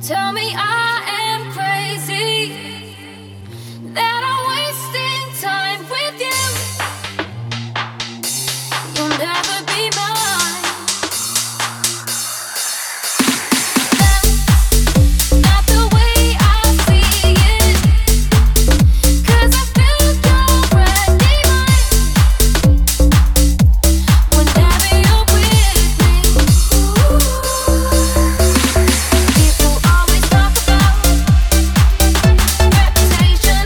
Tell me I am crazy, that I'm wasting time with you. You'll never be mine. That's not the way I see it, 'cause I feel you're already mine. Whenever you're with me, people always talk about reputation.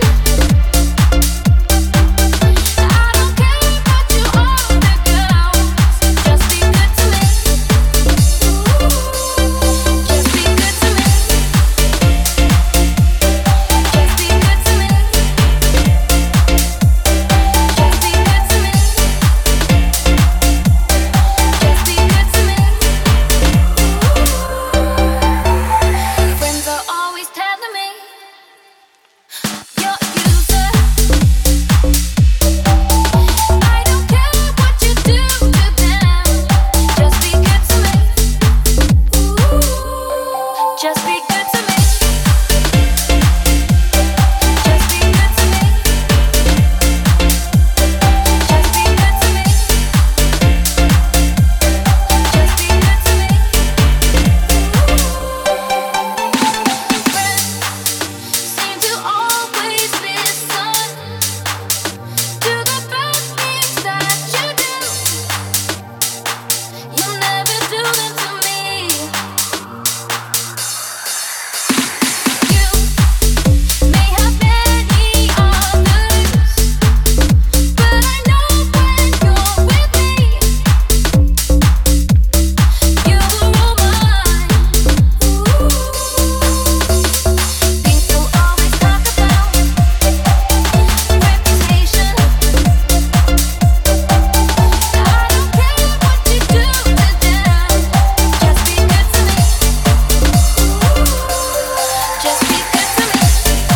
I don't care what you are, girls. Just be good to me. Just be good to me. Just be good to me. Just be good to me. Just be good to me. Friends are always telling me you're a user. I don't care what you do to them. Just be good to me. Just be good to me. Just be good to me. Just be good to me. Just be good to me. Friends seem to always listen to the bad things that you do. You'll never do them to me. You may have many others, but I know when you're with me, you are all mine. People always talk about reputation. I don't care what you do to them. Just be good to me. Just be good to me.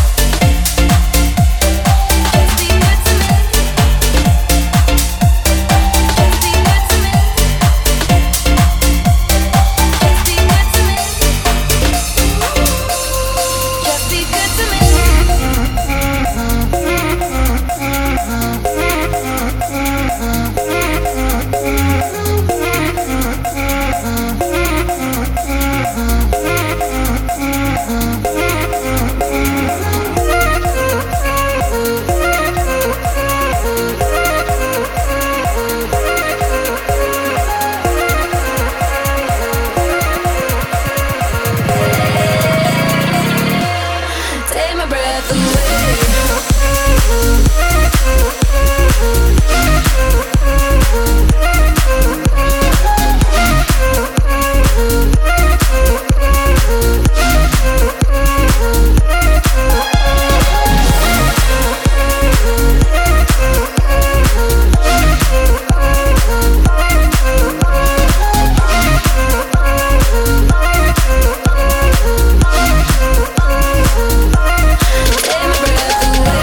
Just be good to me. Just be good to me. Just be good to me. Just be good to me. Take my breath away. Take my breath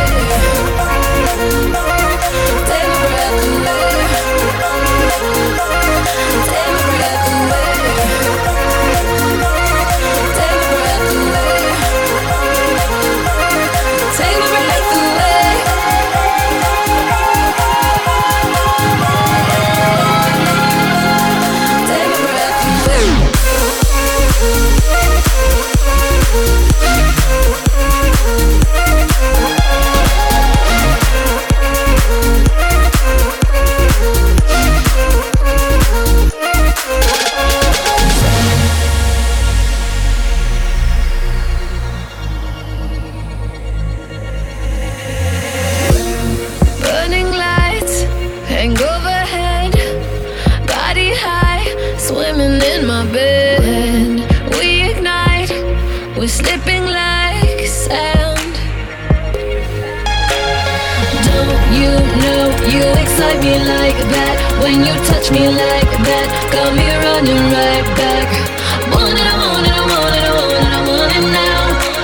You excite me like that. When you touch me like that, got me running right back. Want it, I want it, I want it, I want it, I want it now.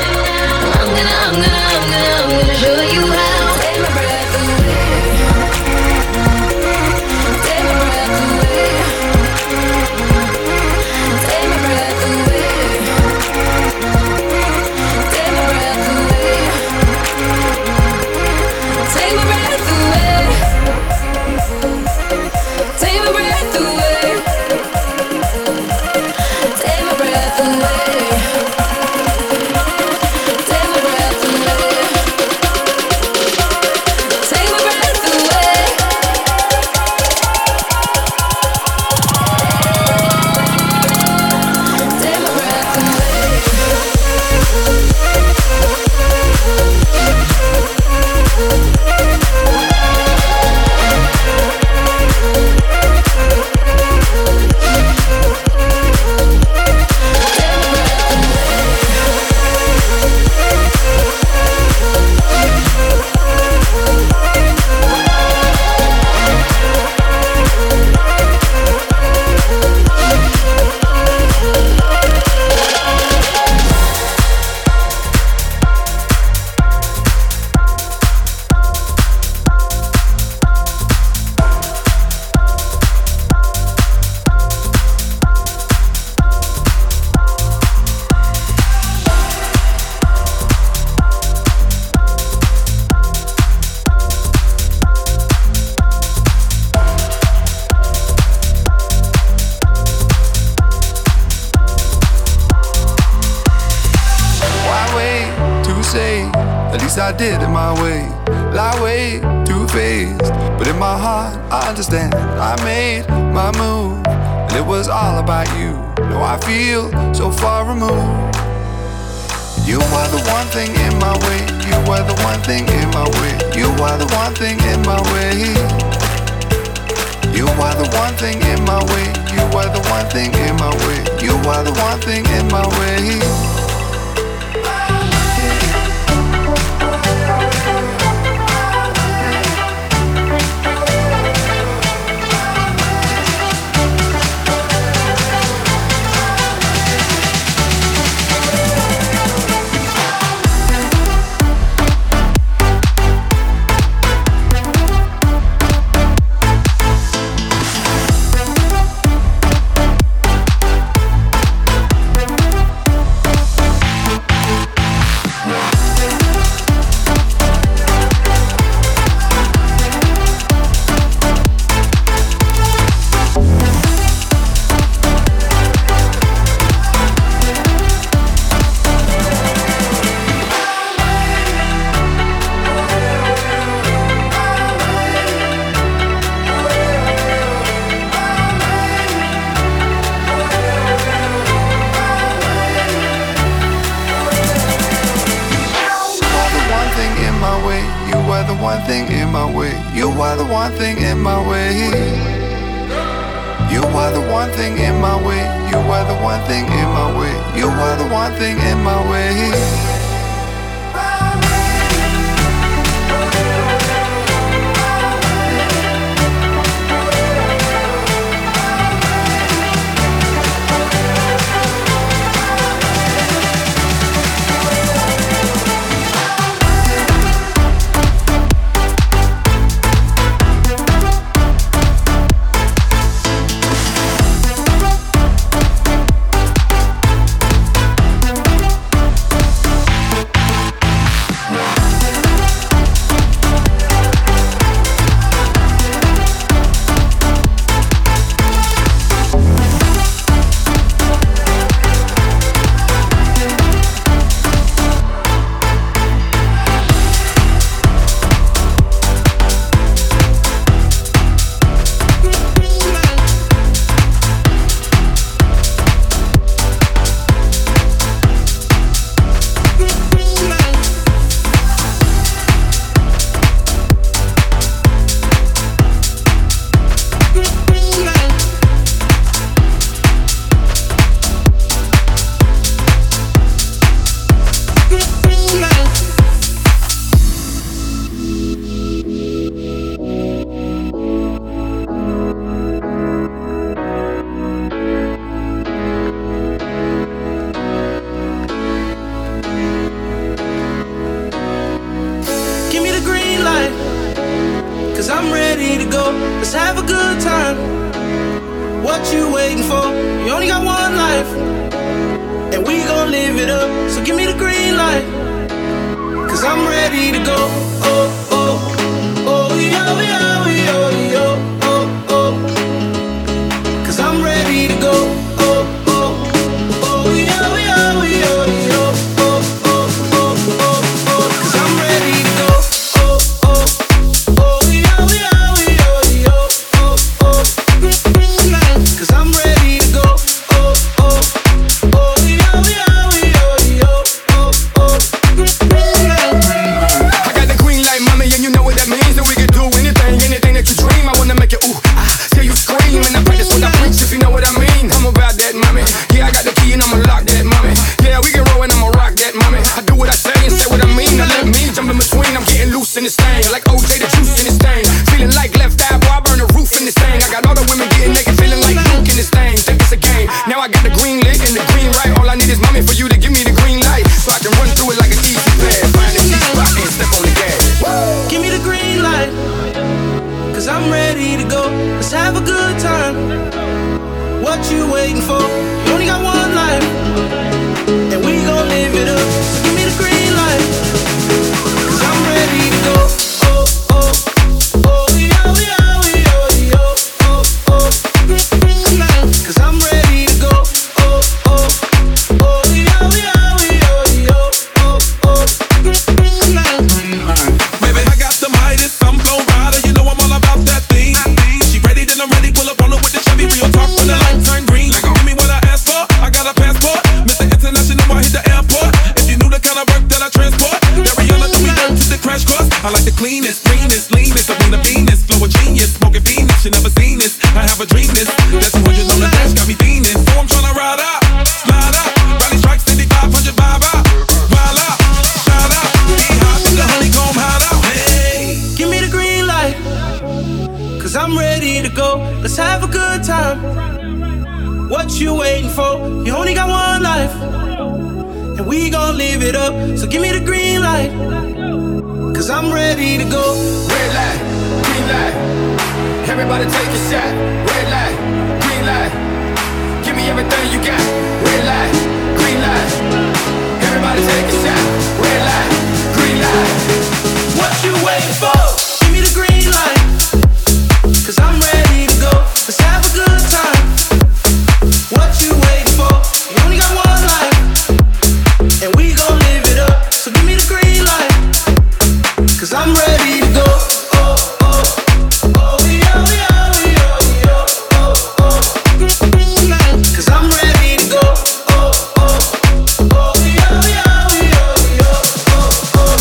I'm gonna show you how. Take my breath away. Take my breath away. Take my breath away. least I did it my way. Lie way too faced, but in my heart I understand. I made my move, and it was all about you. Now I feel so far removed. You are the one thing in my way. You are the one thing in my way. You are the one thing in my way. You are the one thing in my way. You are the one thing in my way. You are the one thing in my way. I like the cleanest, greenest, leanest. Sabina Venus, flow a genius, smoking Venus. You never seen this. I have a dream this. That 200 on the dash got me fiending. So I'm tryna ride out, slide out. Rally strike 500 vibe out. Wild out, shout out. Be hot in the honeycomb hideout. Hey, give me the green light, 'cause I'm ready to go. Let's have a good time. What you waiting for? You only got one life, and we gon' live it up. So give me the green light, 'cause I'm ready to go. Red light, green light. Everybody take a shot. Red light, green light. Give me everything you got. Red light, green light. Everybody take a shot. Red light, green light. What you waiting for? Give me the green light, 'cause I'm ready to go. Let's have a good time. What you waiting for? You only got one life, and we gon' live it up. So give me the green light, 'cause I'm ready to go. Oh, oh, oh, yeah, yeah, yeah, yeah, oh, oh. 'Cause I'm ready to go. Oh, oh, oh, yeah, yeah, yeah, yeah, oh, oh.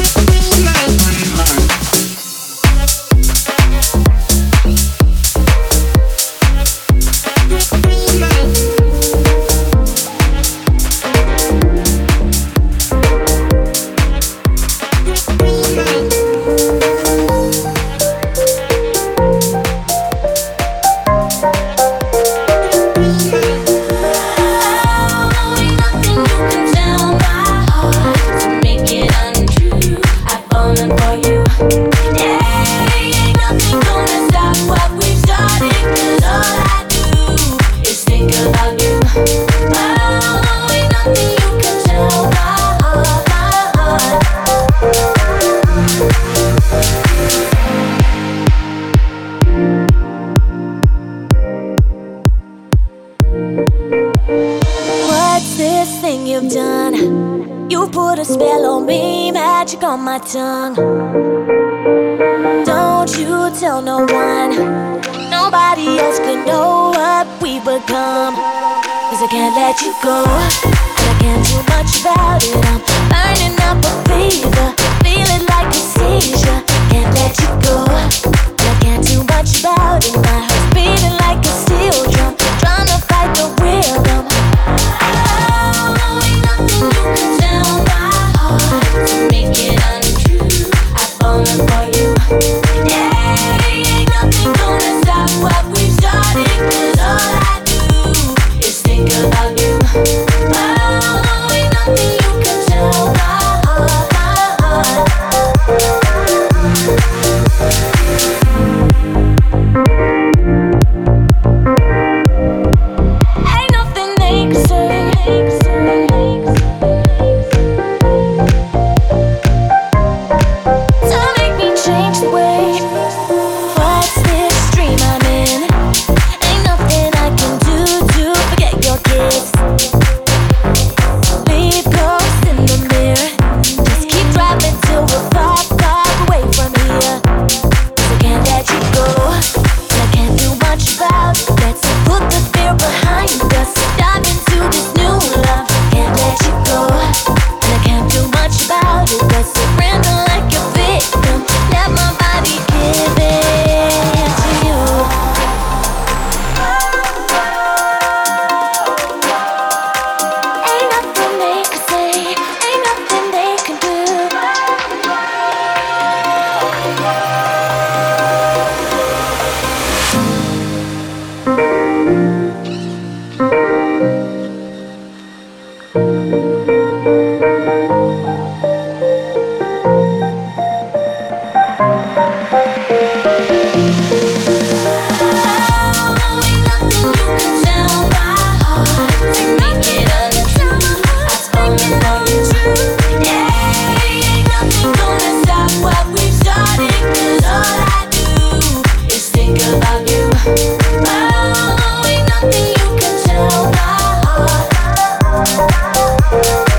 On my tongue. Don't you tell no one. Nobody else can know what we've become. 'Cause I can't let you go, and I can't do much about it. I'm burning up a fever, feeling like a seizure. Can't let you go, and I can't do much about it. My heart's beating like a steel drum, trying to fight the rhythm. Oh, ain't nothing you can tell my heart to make it untrue. I've fallen for you. Yeah, ain't nothing gonna stop what we've started. 'Cause all I do is think about you. Oh, ain't nothing you can tell my heart, my heart. Ain't nothing they can say to make me change the way. What's this dream I'm in? Ain't nothing I can do to forget your kiss. Leave ghosts in the mirror. Just keep driving till we're far, far away from here. 'Cause I can't let you go, and I can't do much about it. Let's put the fear behind us. Dive into this new love. Can't let you go, and I can't do much about it. Let's surrender like a victim. Let my body give it to you. Ain't nothing they can say, ain't nothing they can do. About you. Oh, ain't nothing you can tell my heart.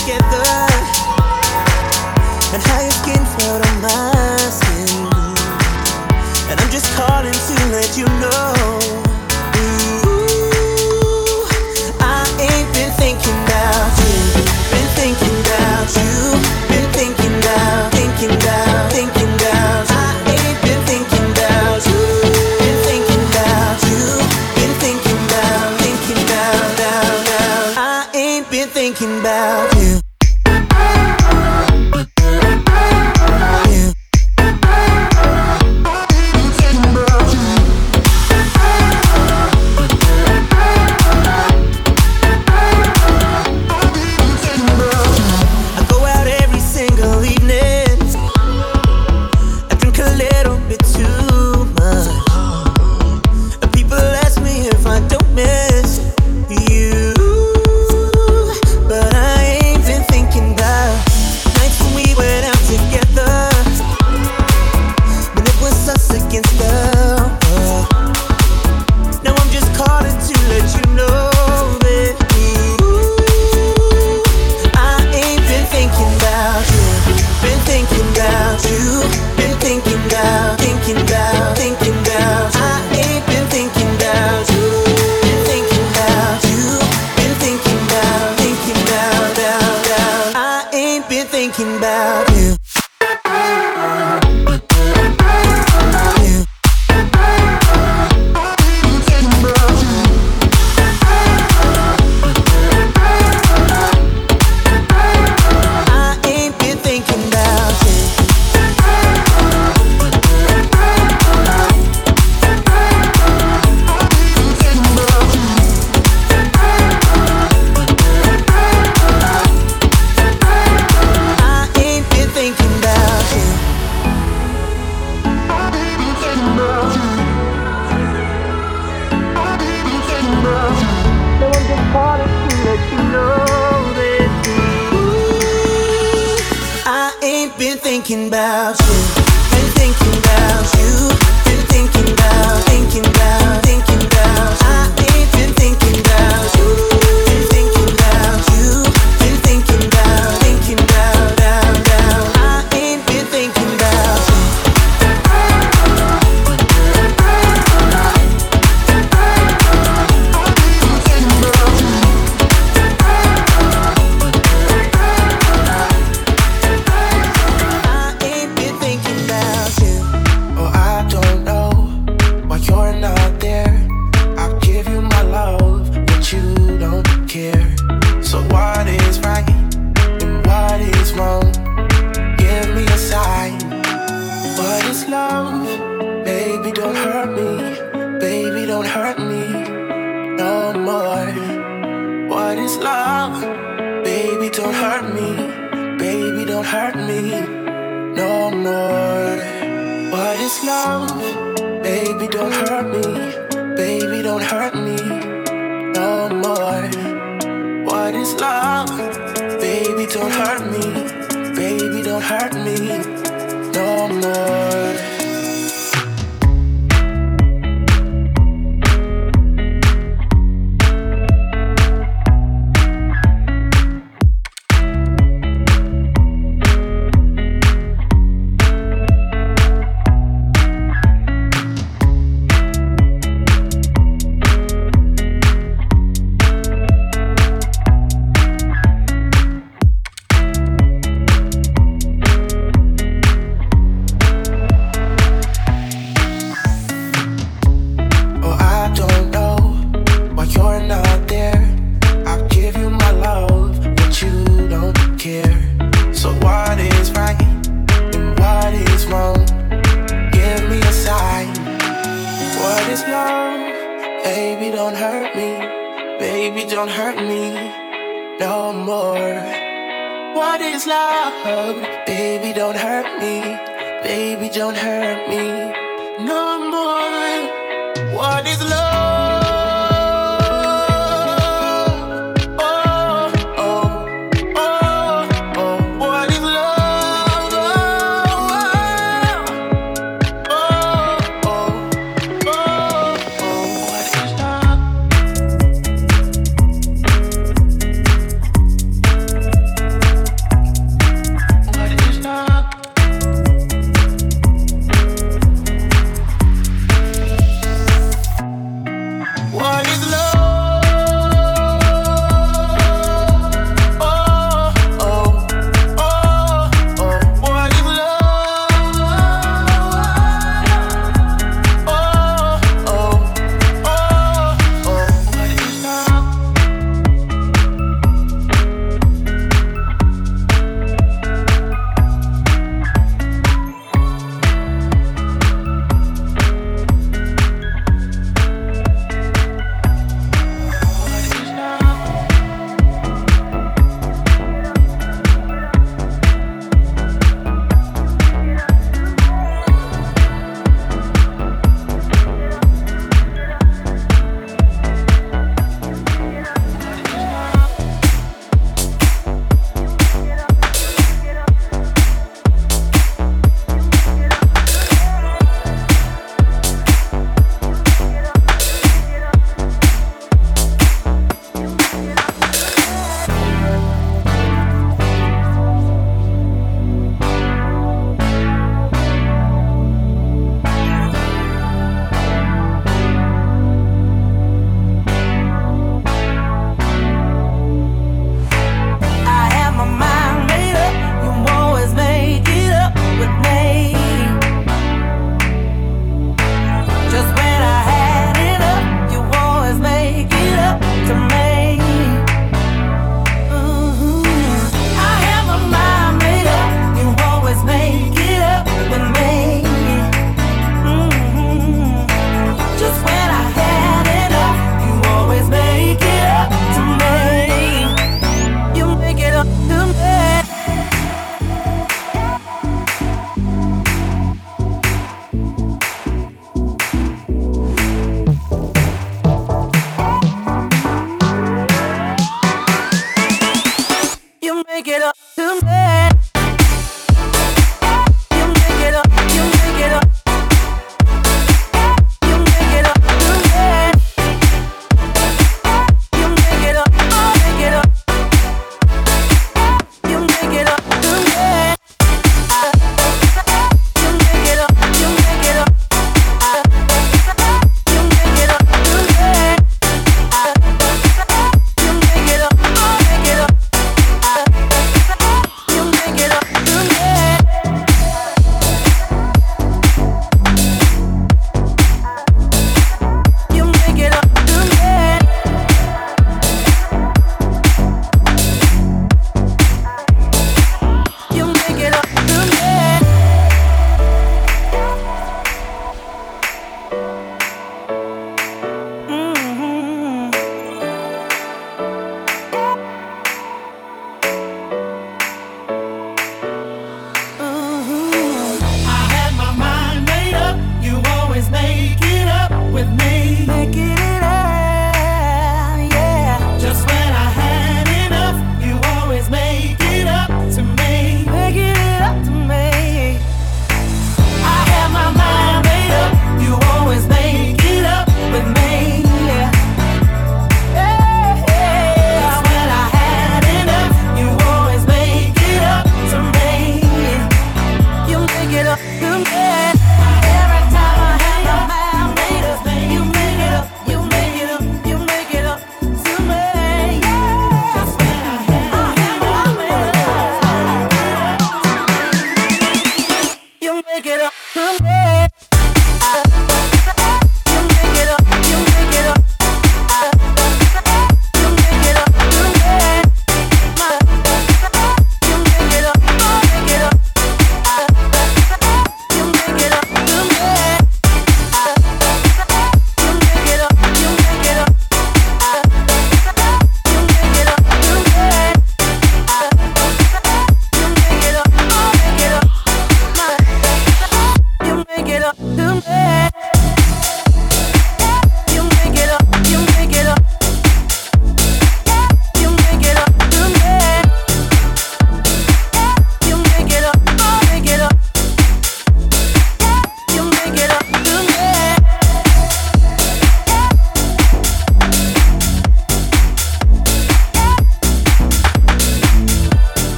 together, and how your skin felt on my skin. And I'm just calling to let you know, ooh, I ain't been thinking about you, been thinking about you, been thinking about, thinking about, thinking about. I ain't been thinking about you, been thinking about you, been thinking about, thinking about, down. I ain't been thinking about you.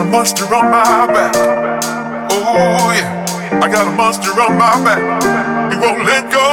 monster on my back. Oh yeah, I got a monster on my back. It won't let go.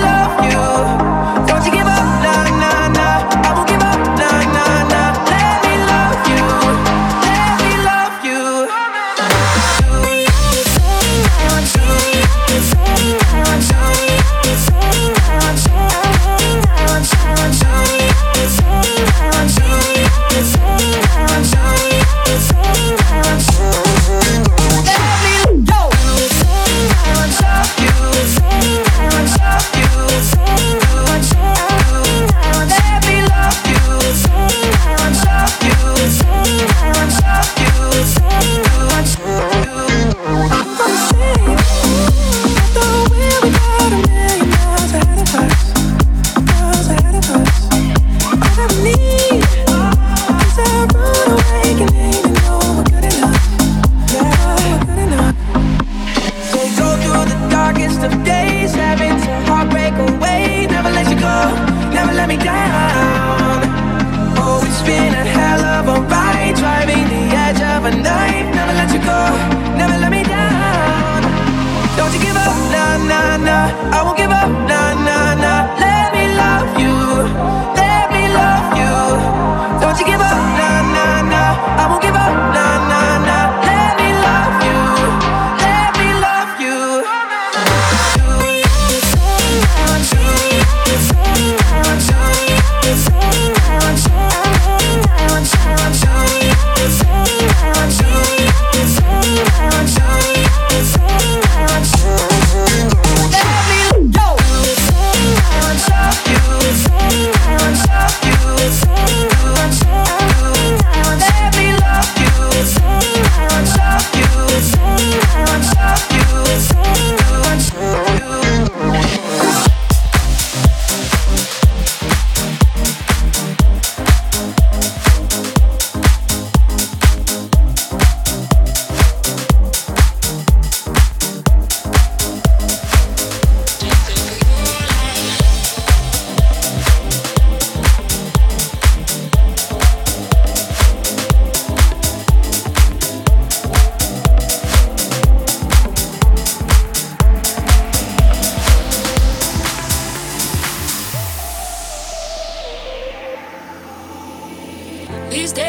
Let me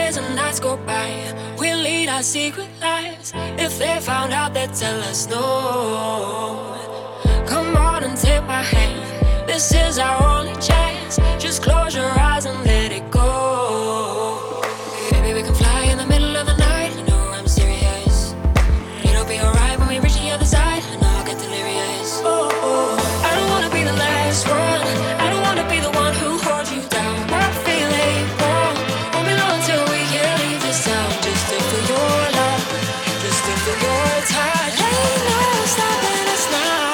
days and nights go by, we'll lead our secret lives. If they found out, they'd tell us no. Come on and take my hand, this is our only chance. Just close your eyes and let it go. Maybe we can fly in the middle of the night, you know I'm serious. It'll be alright when we reach the other side, and I'll get delirious. Oh, oh. I don't wanna be the last one, I don't wanna be the one who holds you down. I'm feeling wrong, won't be long till we can leave this town. Just to feel your love, just to feel your touch. Ain't no stopping us now.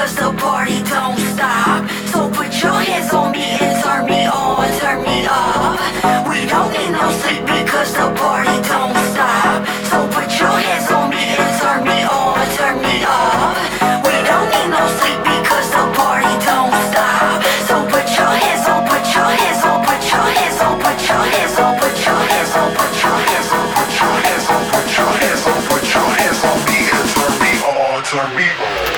because the party don't stop. So put your hands on me and turn me on, turn me up. We don't need no sleep because the party don't stop. So put your hands on me and turn me on, turn me up. We don't need no sleep because the party don't stop. So put your hands on, put your hands on, put your hands on, put your hands on, put your hands on, put your hands on, put your hands on, put your hands on, put your hands on me and turn me on, turn me on.